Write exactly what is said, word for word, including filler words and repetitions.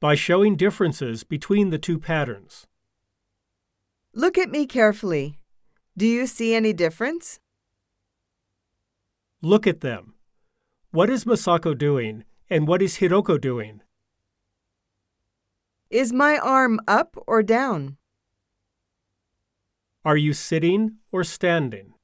by showing differences between the two patterns. Look at me carefully. Do you see any difference? Look at them. What is Masako doing, and what is Hiroko doing? Is my arm up or down? Are you sitting or standing?